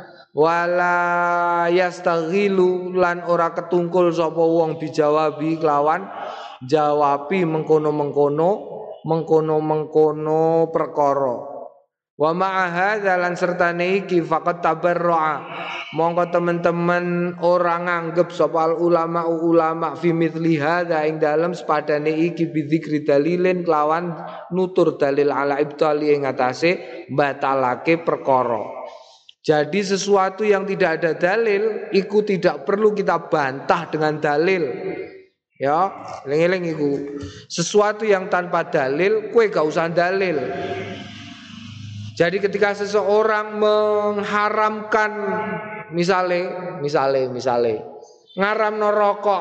wala yastaghilu lan ora ketungkul sapa wong bijawabi kelawan jawabi mengkono-mengkono mengkono-mengkono perkara. Wa ma'a hadza lan sertane iki faqat tabarru'a mongko teman-teman ora nganggep sapa ulama ulama fi mithli hadza ing dalem sepadane iki bidzikri dalilin kelawan nutur dalil ala ibtali ing atase batalake perkara. Jadi sesuatu yang tidak ada dalil iku tidak perlu kita bantah dengan dalil. Ya, eling-eling iku. Sesuatu yang tanpa dalil, kowe gak usah dalil. Jadi ketika seseorang mengharamkan misale, misale, misale, ngaramno rokok,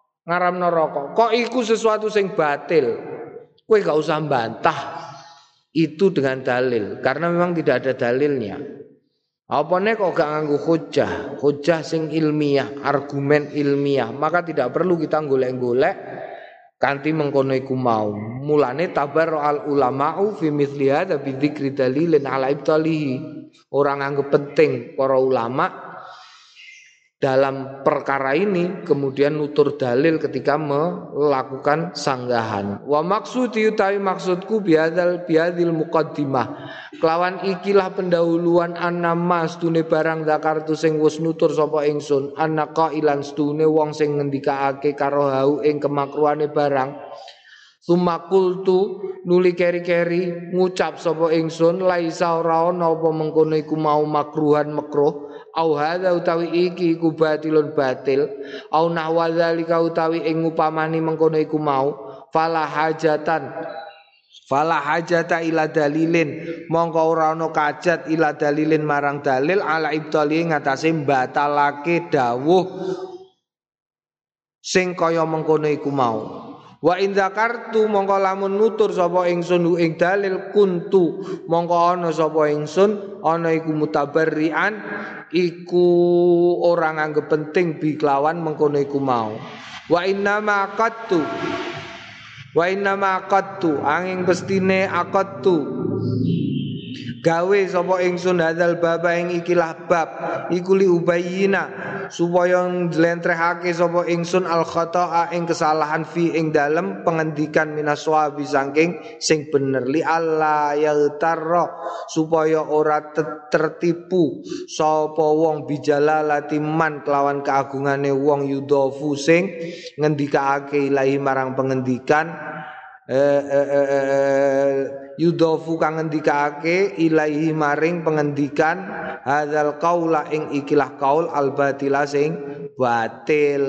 ngaramno rokok, kok iku sesuatu sing batil. Kowe gak usah bantah. itu dengan dalil, karena memang tidak ada dalilnya. Apane kok gak nganggo hujjah, hujjah sing ilmiah, argumen ilmiah, maka tidak perlu kita golek-golek kanthi mengkono iku mau. Mulane tabarru al ulama'u fi mithli hadza bi dzikri dalilin ala ibtalihi. Orang anggap penting para ulama dalam perkara ini kemudian nutur dalil ketika melakukan sanggahan. Wa maksudi utawi maksudku biadzal biadzil muqaddimah. Kelawan ikilah pendahuluan annama stune barang zakartu sing wis nutur sapa ingsun annaka ilan stune wong sing ngendikaake karo hau ing kemakruhane barang. Sumakultu nuli keri-keri ngucap sapa ingsun laisa ora ana apa mengkono iku mau makruhan makruh au hadza utawi iki iku batilun batil au nahwa zalika utawi ing upamani mengkono iku mau fala hajatan fala hajata ila dalilin mongko ora ana kajat ila dalilin marang dalil ala ibtali ngatasé batalake dawuh sing kaya mengkono iku mau. Wa in zakartu mongko lamun nutur sapa ingsun ing dalil kuntu mongko ana sapa ingsun ana iku mutabarrian iku ora nganggep penting bi kelawan mengkono iku mau. Wa inna ma aqattu wa inna ma aqattu angin pestine aqattu gawe sapa ingsun hadzal baba ing ikilah bab iku li ubayyina supaya njlentrehake sapa ingsun al khata'a ing kesalahan fi ing dalem pengendikan minaswabi saking sing bener li alla yaltarra supaya ora tertipu sapa wong bijalalati man kelawan keagungane wong yudofu sing ngendikake ilahi marang pengendikan eh, eh, eh, eh, yudofu kang ngendikake ilaihi maring pengendikan hadzal qaula ing ikilah qaul al batila sing batil.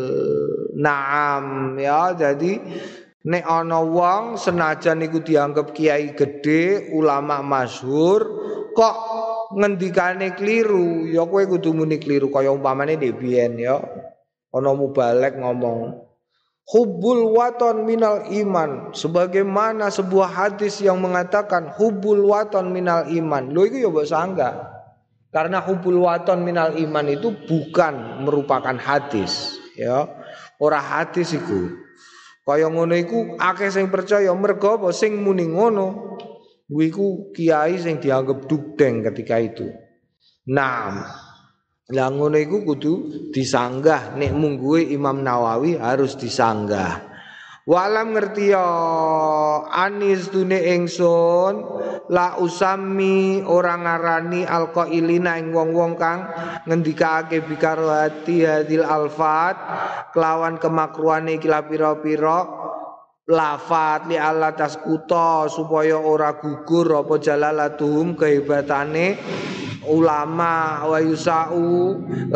Naam ya, jadi nek ana wong senajan iku dianggap kiai gede, ulama masyhur kok ngendikane kliru, ya kowe kudu muni kliru kaya umpamane ndek biyen ya. Ana mubalek ngomong hubbul waton minal iman, sebagaimana sebuah hadis yang mengatakan hubbul waton minal iman. Lho iku ya mbok sanggah. Karena hubbul waton minal iman itu bukan merupakan hadis, ya. Ora hadis iku. Kaya ngono iku akeh sing percaya mergo apa sing muni ngono. Kuwi iku kiai sing dianggap dugdeng ketika itu. Nah, lah ngono iku kudu disanggah, nek mungguhe Imam Nawawi harus disanggah. Walam ngerti ya anis dune ingsun la usami orang ngarani alqailina ing wong-wong kang ngendikake bikaro hati hadil alfat kelawan kemakruhane iki pira-pira lafat li Allah taskuta supaya ora gugur apa jalalatuhum kehebatane ulama wa yusau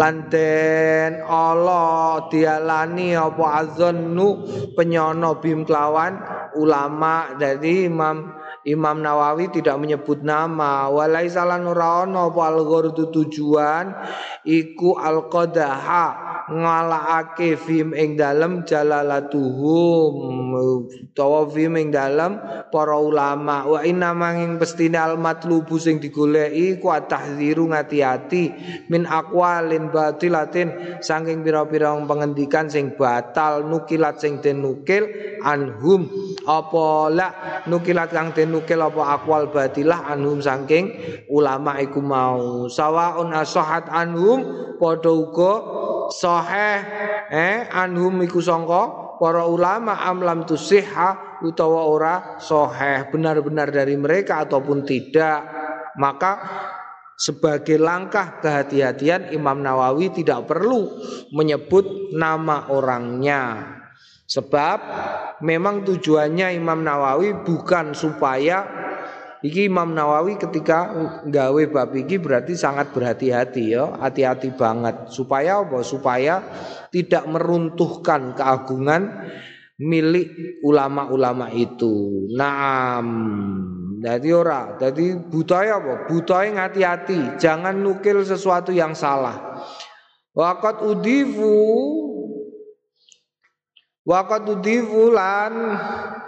lanten Allah dialani apa azannu penyono bim kelawan ulama. Jadi Imam Imam Nawawi tidak menyebut nama walaisa lan ora ana apa al-ghurdu tujuan iku al-qadaha ngalahake film ing dalem jalalatuhum utawa film ing dalem para ulama wa inna manging pestine al matlubu sing digoleki ku tahdziru ngati-ati min aqwalin batilatin saking pira-pira pengendikan sing batal nukilat sing den nukil anhum apa la nukilat kang den nukil apa aqwal batilah anhum saking ulama iku mau sawaun asahat anhum padha uga sahih eh anhum iku sangka para ulama amlam tusihha utawa ora sahih benar-benar dari mereka ataupun tidak. Maka sebagai langkah kehati-hatian Imam Nawawi tidak perlu menyebut nama orangnya, sebab memang tujuannya Imam Nawawi bukan supaya iki Imam Nawawi ketika gawe bab iki berarti sangat berhati-hati ya, hati-hati banget supaya apa? Supaya tidak meruntuhkan keagungan milik ulama-ulama itu. Naam. Jadi ora, jadi budaya apa? Budaya ngati-hati, jangan nukil sesuatu yang salah. Waqat udifu Waqat udifu lan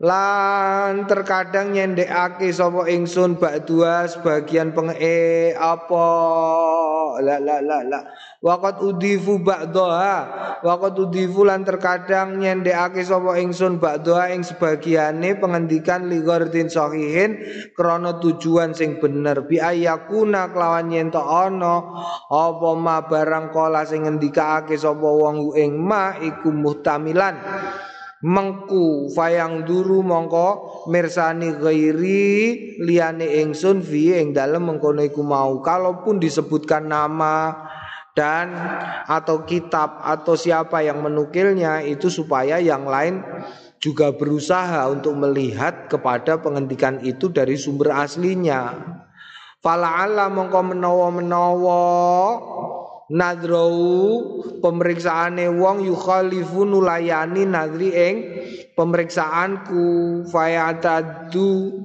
lan terkadang nyendekake sapa ingsun ba'dua sebagian penge apa la la la la waqad udifu ba'daha waqad udifu lan terkadang nyendekake sapa ingsun ba'daha ing sebagiane pengendikan li ghardin sahihin krana tujuan sing bener bi ayakuna kelawan yen ta ana apa ma barang kala sing ngendikake sapa wong ing ma iku muhtamilan mengku fayang duru mongko mirsani ghairi liyane ingsun fi ing dalem mengkono iku mau kalaupun disebutkan nama dan atau kitab atau siapa yang menukilnya itu supaya yang lain juga berusaha untuk melihat kepada penghentikan itu dari sumber aslinya. Fala'alla mongko menawa-menawa nadrau pemeriksaane wong yukhalifu nulayani nadri ing pemeriksaanku fayatadu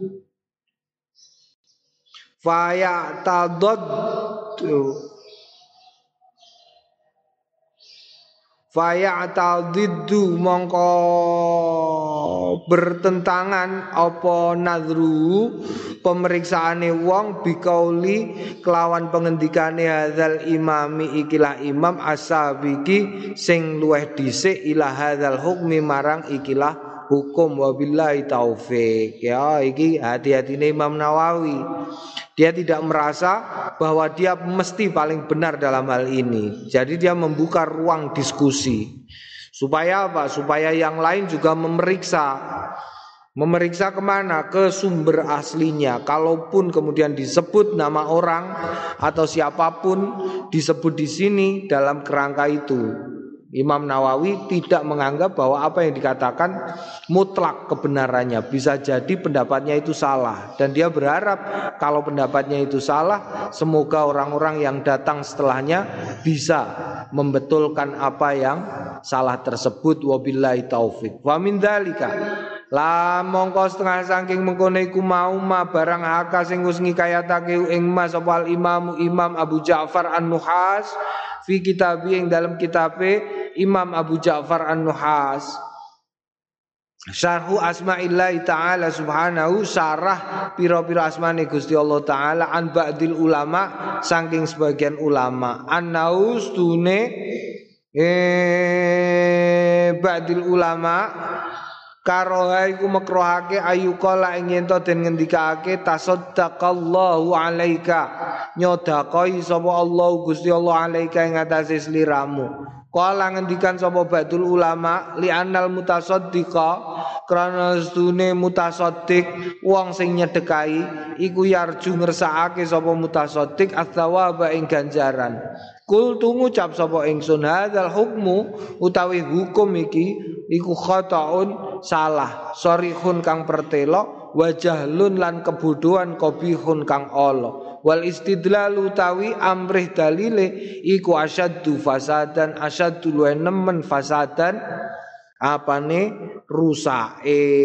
fayatadad fayatadiddu mongko bertentangan apa nadru pemeriksaane wong bikauli kelawan pengendikane hadzal imami ikilah imam asabiki sing luweh dhisik ila hadzal hukmi marang ikilah hukum wabillahi taufik. Ya iki hati-hatine Imam Nawawi. Dia tidak merasa bahwa dia mesti paling benar dalam hal ini. Jadi dia membuka ruang diskusi. Supaya apa? Supaya yang lain juga memeriksa. Memeriksa kemana? Ke sumber aslinya. Kalaupun kemudian disebut nama orang atau siapapun disebut di sini dalam kerangka itu, Imam Nawawi tidak menganggap bahwa apa yang dikatakan mutlak kebenarannya. Bisa jadi pendapatnya itu salah. Dan dia berharap kalau pendapatnya itu salah, semoga orang-orang yang datang setelahnya bisa membetulkan apa yang salah tersebut. Wabillahi taufik. Wa min dzalika la mongko setengah saking mengkono iku mau ma barang haka sing wis ngikayatake ing mas sapa imam Imam Abu Ja'far An-Nuhas fi kitabi ing dalam kitabe Imam Abu Ja'far An-Nuhas Syarhu asma'illahi ta'ala subhanahu syarah pira-pira asmane Gusti Allah ta'ala an ba'dil ulama saking sebagian ulama annaus tune eh ba'dil ulama karoha iku makruhake ayuqala ing yen to den ngendikake tasaddaqallahu alaika nyodakoi sapa Allah Gusti Allah alaika ing atase sliramu. Kala ngendikan sapa badul ulama li anal mutasaddiqa krana stune mutasaddiq wong sing nyedekahi iku yarju ngersakake sapa mutasaddiq atsawaba ing ganjaran. Kul tu ngucap sapa ingsun hadzal hukmu utawi hukum iki iku khata'un salah sorihun kang pertelo wajahlun lan kebodohan qabihun kang ala wal istidlal utawi amrih dalile iku asyaddu fasadan asyaddu luwe nemen fasadan apane rusak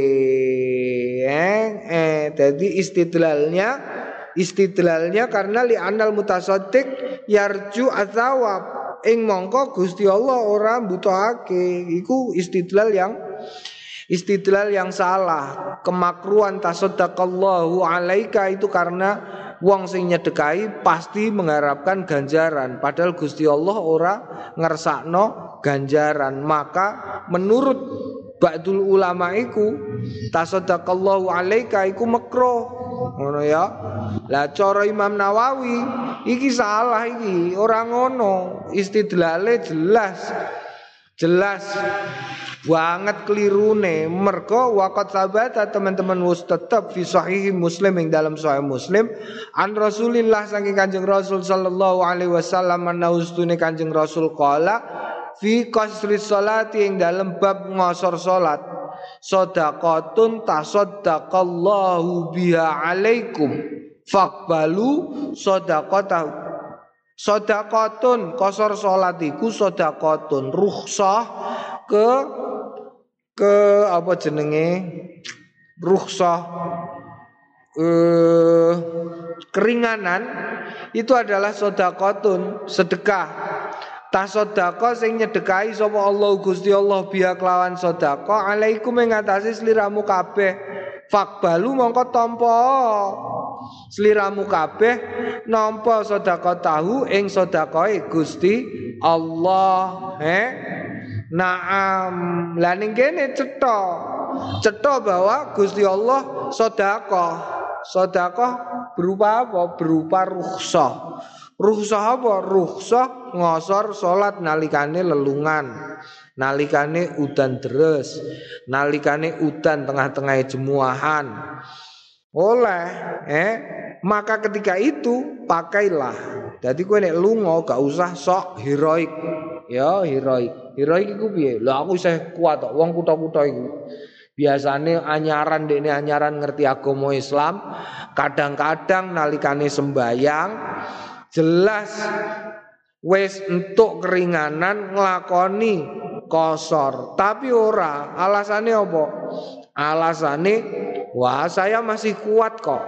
eh eh jadi istidlalnya istidlalnya karena li anal mutasaddiq yarju azawab ing mongko Gusti Allah ora mbutuhake iku istidlal yang istidlal yang salah. Kemakruhan tasaddaqallahu alaika itu karena wong sing nyedekahi pasti mengharapkan ganjaran padahal Gusti Allah ora ngersakno ganjaran. Maka menurut ba'dul ulama iku tasaddaqallahu alaika iku makruh. Ngono ya. Lah cara Imam Nawawi iki salah iki, ora ngono. Istidlale jelas. Jelas banget kelirune mergo waqat sabata teman-teman wis tetep fi sahih Muslim ing dalam sahih Muslim an Rasulillah saking Kanjeng Rasul sallallahu alaihi wasallam anaustune Kanjeng Rasul qala fi qasri sholati ing dalam bab ngosor salat shadaqatun tasaddaqallahu biha alaikum faqbalu shadaqatahu. Shadaqatun qasar salat iku shadaqatun rukhsah ke ke apa jenenge rukhsah eh, keringanan itu adalah shadaqatun sedekah Tasaddaqa sing nyedekahi sapa Allah Gusti Allah biya kelawan sedekah alaikum ing atase sliramu kabeh fakbalu mongko tampa sliramu kabeh nampa sedekah tahu ing sedekahe Gusti Allah eh naam lan ning kene cetha cetha bahwa Gusti Allah sedekah sedekah berupa apa berupa rukhsah. Rukhsah apa? Rukhsah ngosor salat nalikane lelungan, nalikane udan deres, nalikane udan tengah-tengah jemuahan. Oleh eh maka ketika itu pakailah. Jadi kowe nek lunga gak usah sok heroik. Ya, heroik. Heroik iku piye? Lah aku isih kuat kok wong kutha-kutha iku. Biasane anyaran dekne anyaran ngerti agama Islam, kadang-kadang nalikane sembayang jelas wis entuk keringanan nglakoni kosor, tapi ora. Alasane apa? Alasane wah saya masih kuat kok.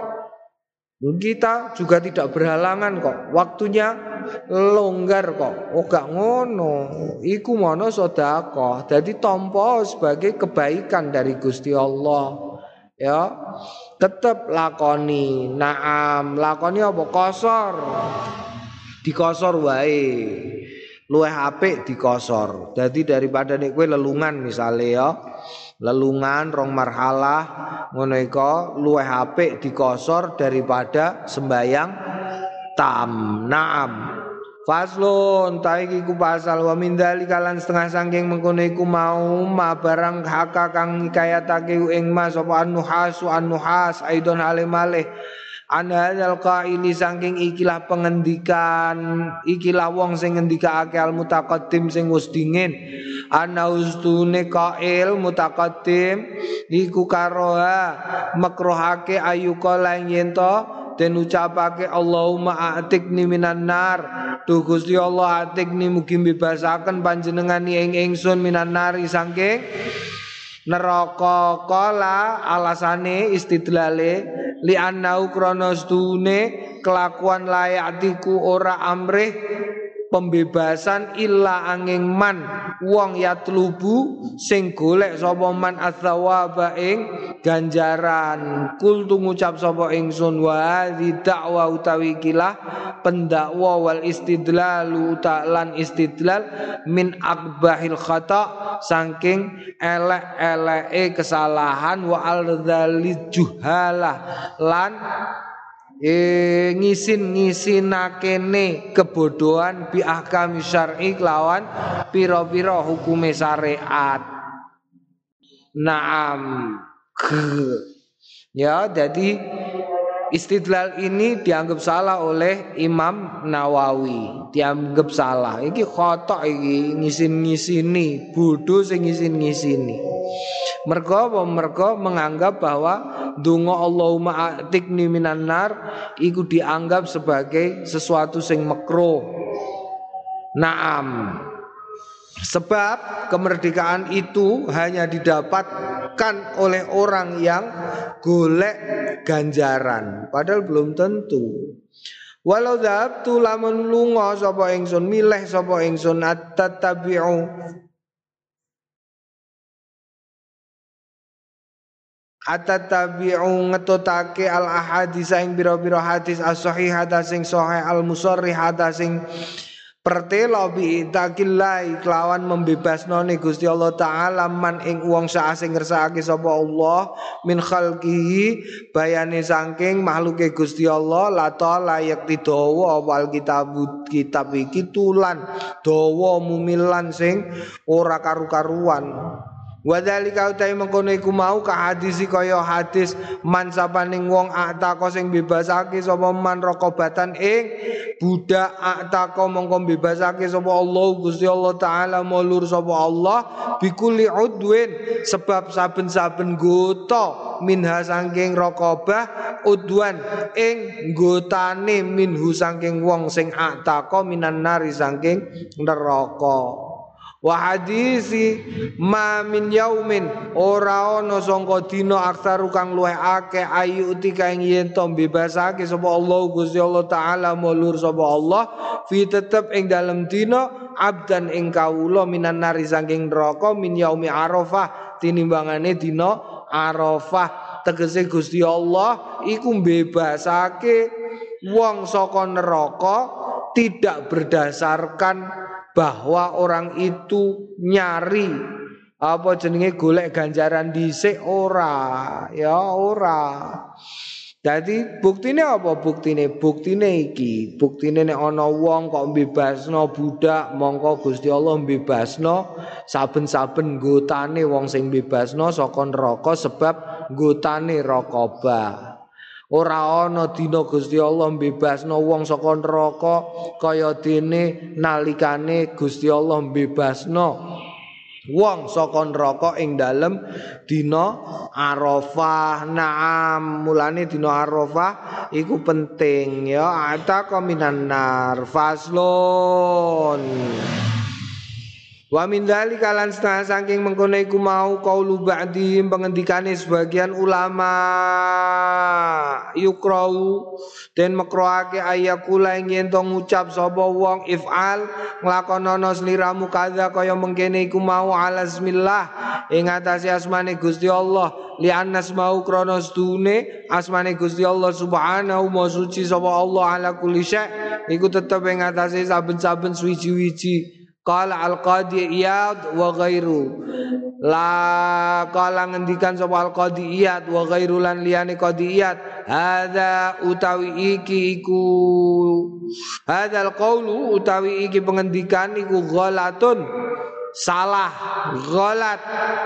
Kita juga tidak berhalangan kok. Waktunya longgar kok. Oh gak ngono. Iku mono sedekah. Dadi tampa sebagai kebaikan dari Gusti Allah. Ya, tetap lakoni. Naam, lakoni apa kosor. Dikosor wae. Luwih apik dikosor. Dadi daripada nek kowe lelungan misale ya. Lelungan rong marhalah ngono iku luwih apik dikosor daripada sembayang tam. Naam. Faslun taiki ku pasal wa min dzalika lan setengah saking mengkono iku mau ma barang haka kang kayatake ing mas apa an-nuhasu an-nuhas aidon alimale an hadzal qaili saking ikilah pengendikan ikilah wong sing ngendikake al mutaqaddim sing wis dingin ana ustune qail mutaqaddim iku karoha makruhake ayuka lan yen to den ucapake Allahumma a'tikni minan nar. Duh Gusti Allah atikni mugi bebasaken panjenengan ing ingsun minan nari saking neraka. Kala alasane istidlale li annau kronos dune kelakuan layatiku ora amrih pembebasan illa angin man wong yatlubu sing golek sapa man atsawaba ing ganjaran. Kul tu ngucap sapa ingsun wa di dakwa utawi kilah pendakwa wal istidlalu ta'lan istidlal min akbahil khata saking elek-eleke kesalahan wa al-dzalil juhalah lan E, ngisin ngisinakene kebodohan bi ahkam syar'i lawan pira-pira hukume syariat. Naam. Ya, jadi istidlal ini dianggap salah oleh Imam Nawawi. Dianggap salah. Iki khotok iki ngisin-ngisini, bodoh sing ngisin-ngisini. Mergo apa? Mergo menganggap bahwa donga Allahumma atikni minan nar iku dianggap sebagai sesuatu sing makruh. Naam. Sebab kemerdekaan itu hanya didapatkan oleh orang yang golek ganjaran, padahal belum tentu. Walau dzabtu lamun lunga sapa ingsun milih sapa ingsun at-tabi'u Atatabi'u ngetutake al ahadits ing bira-bira hadis as-sahihata sing sahih al-musarrihata sing pertela bi takillah kelawan membebasno ne Gusti Allah taala man ing wong sak sing ngersakake sapa Allah min khalqihi bayane saking makhluke Gusti Allah la ta layak didawa wal kitab kitab iki tulan dawa mumilan sing ora karu-karuan. Wadzalika utai mengkono iku mau ka hadis kaya hadis man sapaning wong atako sing bebasake sapa man raqabatan ing budak atako mongko bebasake sapa Allah Gusti Allah taala mulur sapa Allah bikuli udwin sebab saben-saben gota minha saking raqabah udwan ing gotane minhu saking wong sing atako minan nari saking neraka. Wa hadisi ma min yaumin ora ana sangka dina aksaru kang luwih akeh ayu utika ing yen to bebasake sapa Allah Gusti Allah taala mulur sapa Allah fi tetep ing dalem dina abdan ing kawula minan nari saking neraka min yaumi Arafah tinimbangane dina Arafah. Tegese Gusti Allah iku mbebasake wong saka neraka tidak berdasarkan bahwa orang itu nyari apa jenenge golek ganjaran dhisik, ora ya ora. Jadi buktine apa buktine? Buktine iki, buktine nek ana wong kok mbebasno budak, mongko Gusti Allah mbebasno saben-saben nggotane wong sing mbebasno saka neraka sebab nggotane raqabah. Ora ana dina Gusti Allah mbebasno wong saka neraka kaya dene nalikane Gusti Allah mbebasno wong saka neraka ing dalem dina Arafah. Naam, mulane dina Arafah iku penting ya. Ataka minan nar faslun. Wa min dzalika lan setengah saking mengkono iku mau qaulu ba'di pengendikane sebagian ulama yukrau den makruhake ayakula ing yen to ngucap sapa wong if'al nglakonono sliramu kadza kaya mengkene iku mau ala bismillah ing atase asmane Gusti Allah li annas mau krana sedune asmane Gusti Allah subhanahu wa suci sapa Allah ala kulli syai iku tetep ing atase saben-saben suwi-wiji. Qala al-Qadi Iyad wa ghairu la qala ngendikan sapa al-Qadi Iyad wa ghairu lan liyane Qadi Iyad hadza utawi iki iku hadzal qaulu utawi iki pengendikan iku ghalatun salah ghalat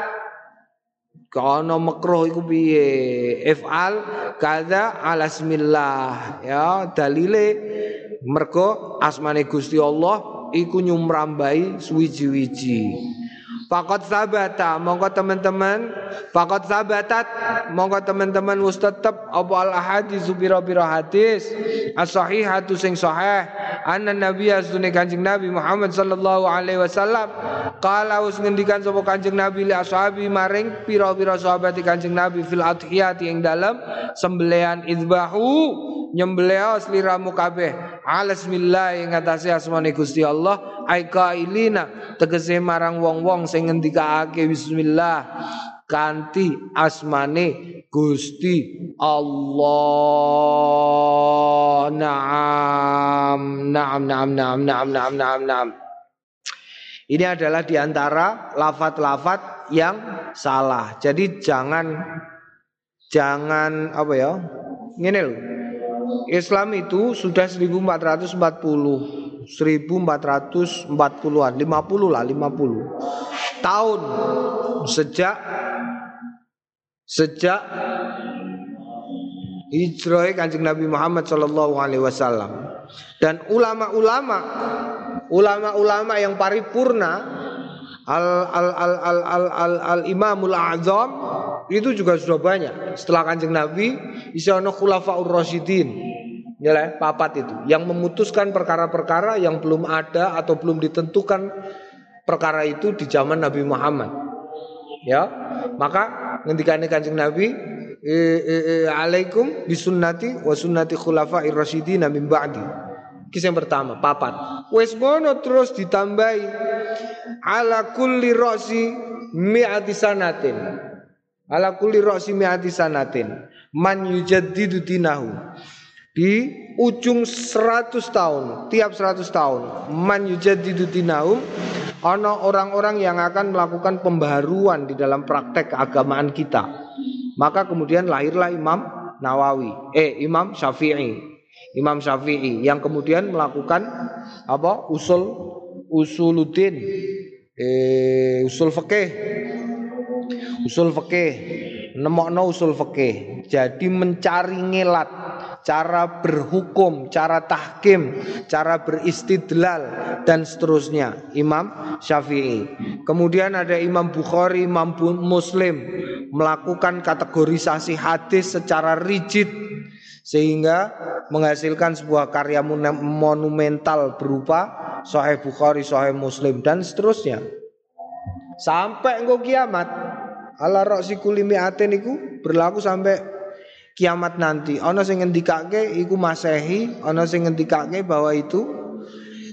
kono makruh iku piye if'al kadza ala bismillah ya dalile mergo asmane Gusti Allah iku nyumrambai suwiji-wiji. Faqad sabata mongko teman-teman faqad sabatat mongko teman-teman wis tetep apa al ahadits pira-pira hadis as-sahihatu sing sahih anna nabiy sunne Kanjeng Nabi Muhammad sallallahu alaihi wasallam qala wis ngendikan sapa Kanjeng Nabi li ashabi maring pira-pira sahabat Kanjeng Nabi fil adhiyati ing dalem sembelihan idbahu nyembelih sliramu kabeh ala bismillah ing atase asmane Gusti Allah ai qailina tegese marang wong-wong sing ngendikake bismillah kanthi asmane Gusti Allah. Naam naam naam naam naam naam naam naam. Ini adalah diantara lafat-lafat yang salah. Jadi jangan jangan apa ya? Ngene lho. Islam itu sudah seribu empat ratus empat puluh seribu empat ratus empat puluhan lima puluh lah lima puluh tahun sejak sejak hijrah Kanjeng Nabi Muhammad sallallahu alaihi wasallam dan ulama-ulama ulama-ulama yang paripurna al al al al al al, al Imamul A'zam itu juga sudah banyak. Setelah Kanjeng Nabi isa ana khulafaur rasyidin. Ya lah, papat itu yang memutuskan perkara-perkara yang belum ada atau belum ditentukan perkara itu di zaman Nabi Muhammad. Ya, maka ngendikane Kanjeng Nabi e, e, e, alaikum bisunnati wa sunnati khulafair rasyidin min ba'di. Kisah yang pertama, papat. Wes ngono terus ditambahi ala kulli ra'si mi'ati sanatin. Ala kulli ra'si mi'ati sanatin man yujaddidu dinahu. Di ujung seratus tahun, tiap seratus tahun man yujaddidu dinahum ana orang-orang yang akan melakukan pembaharuan di dalam praktek keagamaan kita. Maka kemudian lahirlah Imam Nawawi, eh Imam Syafi'i. Imam Syafi'i yang kemudian melakukan apa? usul usuluddin, eh usul fikih. Usul fikih, nemokno usul fikih. Jadi mencari ngelat cara berhukum, cara tahkim, cara beristidlal dan seterusnya. Imam Syafi'i. Kemudian ada Imam Bukhari, Imam Muslim melakukan kategorisasi hadis secara rigid sehingga menghasilkan sebuah karya monumental berupa Sahih Bukhari, Sahih Muslim dan seterusnya. Sampai engko kiamat. Ala ra'si kulli mi'atin iku berlaku sampai kiamat nanti. Ana sing ngendikake iku Masehi, ana sing ngendikake bahwa itu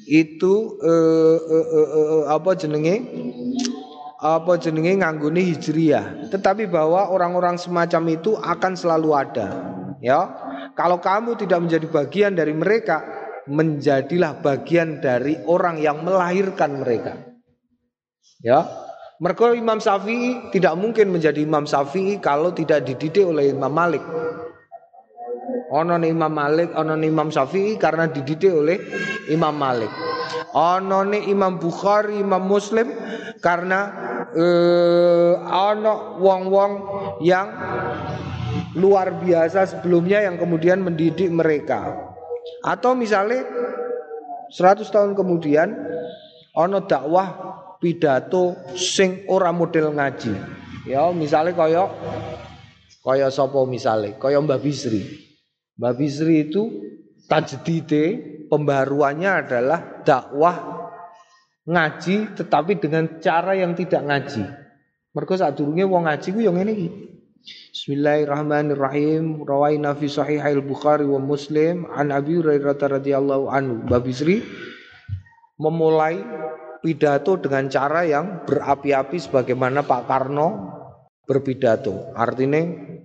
itu eh, eh, eh, eh, apa jenenge apa jenenge nganggone hijriyah, tetapi bahwa orang-orang semacam itu akan selalu ada. Ya, kalau kamu tidak menjadi bagian dari mereka, menjadilah bagian dari orang yang melahirkan mereka. Ya, mergo Imam Syafi'i tidak mungkin menjadi Imam Syafi'i kalau tidak dididik oleh Imam Malik. Ono Imam Malik, ono Imam Syafi'i karena dididik oleh Imam Malik. Ono Imam Bukhari, Imam Muslim karena eh, ono wong-wong yang luar biasa sebelumnya yang kemudian mendidik mereka. Atau misalnya seratus tahun kemudian ono dakwah pidato sing ora model ngaji. Ya, misalnya kaya kaya sapa misalnya, kaya Mbah Bisri. Mbah Bisri itu tajdide, pembaruannya adalah dakwah ngaji tetapi dengan cara yang tidak ngaji. Mergo sadurunge wong ngaji ku yo ngene iki. Bismillahirrahmanirrahim. Rawaina fi sahihil Bukhari wa Muslim an Abi Hurairah radhiyallahu anhu. Mbah Bisri memulai pidato dengan cara yang berapi-api sebagaimana Pak Karno berpidato. Artinya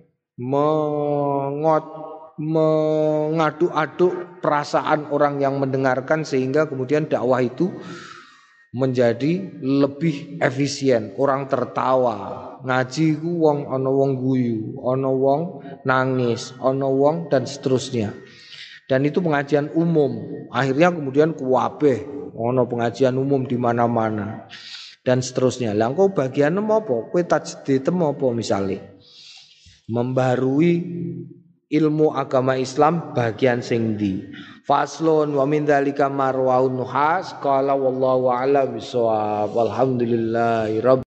mengot mengaduk-aduk perasaan orang yang mendengarkan sehingga kemudian dakwah itu menjadi lebih efisien. Orang tertawa, ngaji ku wong ana wong guyu, ana wong nangis, ana wong dan seterusnya. Dan itu pengajian umum. Akhirnya kemudian kuwabeh ana pengajian umum di mana-mana dan seterusnya. Lah engko bagian apa? Kowe tajdid apa misale? Membarui ilmu agama Islam bagian sing ndi. Faslun wa min dzalika marwaun nuhas qala wallahu a'lam bissawab. Walhamdulillahi rabbil